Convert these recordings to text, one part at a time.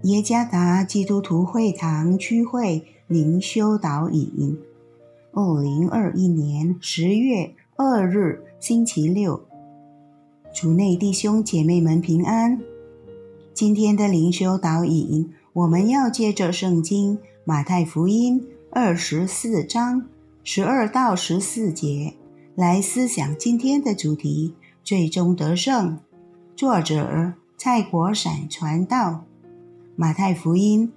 耶加达基督徒会堂区会灵修导引，2021年10月2日星期六，主内弟兄姐妹们平安。今天的灵修导引，我们要借着圣经马太福音24章12到14节来思想今天的主题，最终得胜。作者蔡国闪传道。马太福音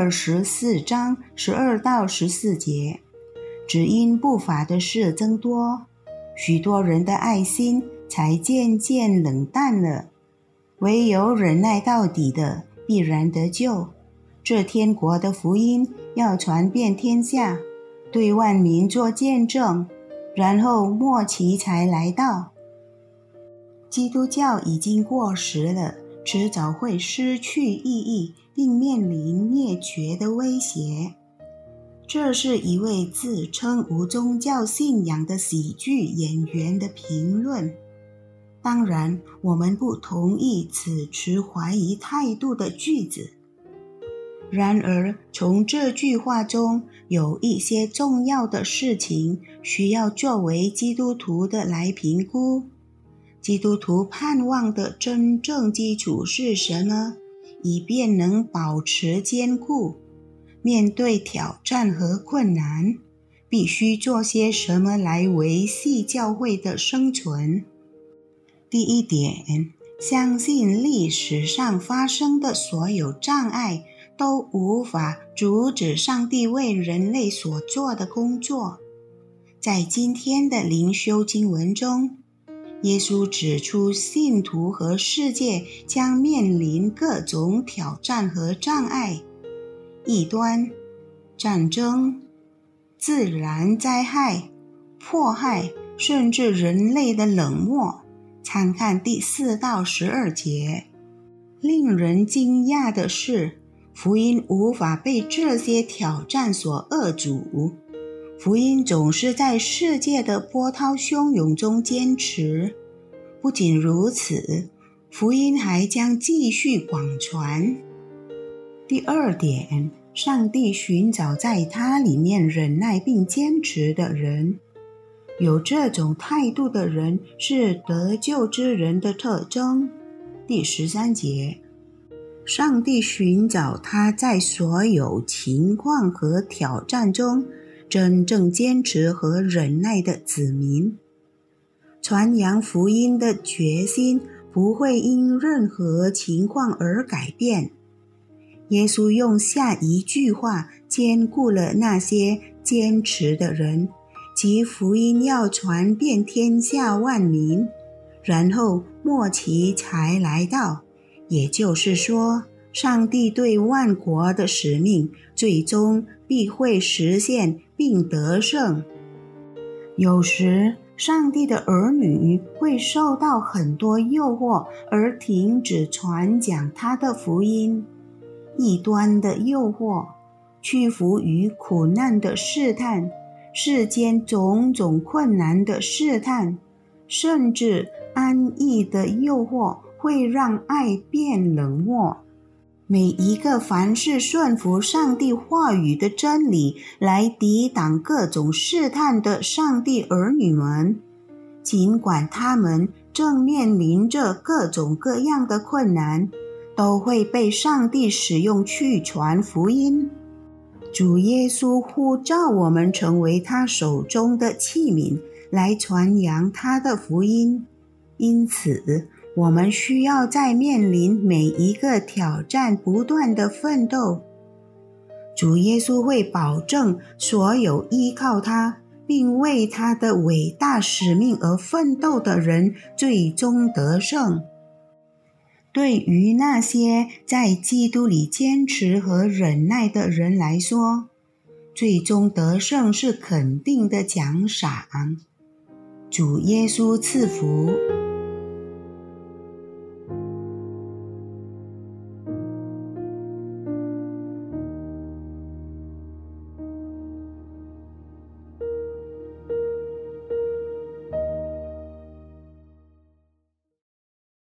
24章12到14节，只因不法的事增多，许多人的爱心才渐渐冷淡了。唯有忍耐到底的，必然得救。这天国的福音要传遍天下，对万民做见证，然后末期才来到。基督教已经过时了，迟早会失去意义，并面临灭绝的威胁。这是一位自称无宗教信仰的喜剧演员的评论。当然，我们不同意此持怀疑态度的句子。然而，从这句话中有一些重要的事情需要作为基督徒的来评估。基督徒盼望的真正基础是什么？以便能保持坚固。面对挑战和困难，必须做些什么来维系教会的生存？第一点，相信历史上发生的所有障碍都无法阻止上帝为人类所做的工作。在今天的灵修经文中，耶稣指出信徒和世界将面临各种挑战和障碍，异端、战争、自然灾害、迫害，甚至人类的冷漠。参看第4到12节。令人惊讶的是，福音无法被这些挑战所扼阻。福音总是在世界的波涛汹涌中坚持。不仅如此，福音还将继续广传。第二点，上帝寻找在他里面忍耐并坚持的人。有这种态度的人是得救之人的特征。第13节，上帝寻找他在所有情况和挑战中真正坚持和忍耐的子民。传扬福音的决心不会因任何情况而改变。耶稣用下一句话兼顾了那些坚持的人，即福音要传遍天下万民，然后末期才来到。也就是说，上帝对万国的使命最终必会实现并得胜。有时，上帝的儿女会受到很多诱惑而停止传讲他的福音。异端的诱惑，屈服于苦难的试探，世间种种困难的试探，甚至安逸的诱惑会让爱变冷漠。每一个凡是顺服上帝话语的真理来抵挡各种试探的上帝儿女们，尽管他们正面临着各种各样的困难，都会被上帝使用去传福音。主耶稣呼召我们成为他手中的器皿，来传扬他的福音。因此，我们需要在面临每一个挑战不断的奋斗。主耶稣会保证所有依靠他，并为他的伟大使命而奋斗的人最终得胜。对于那些在基督里坚持和忍耐的人来说，最终得胜是肯定的奖赏。主耶稣赐福。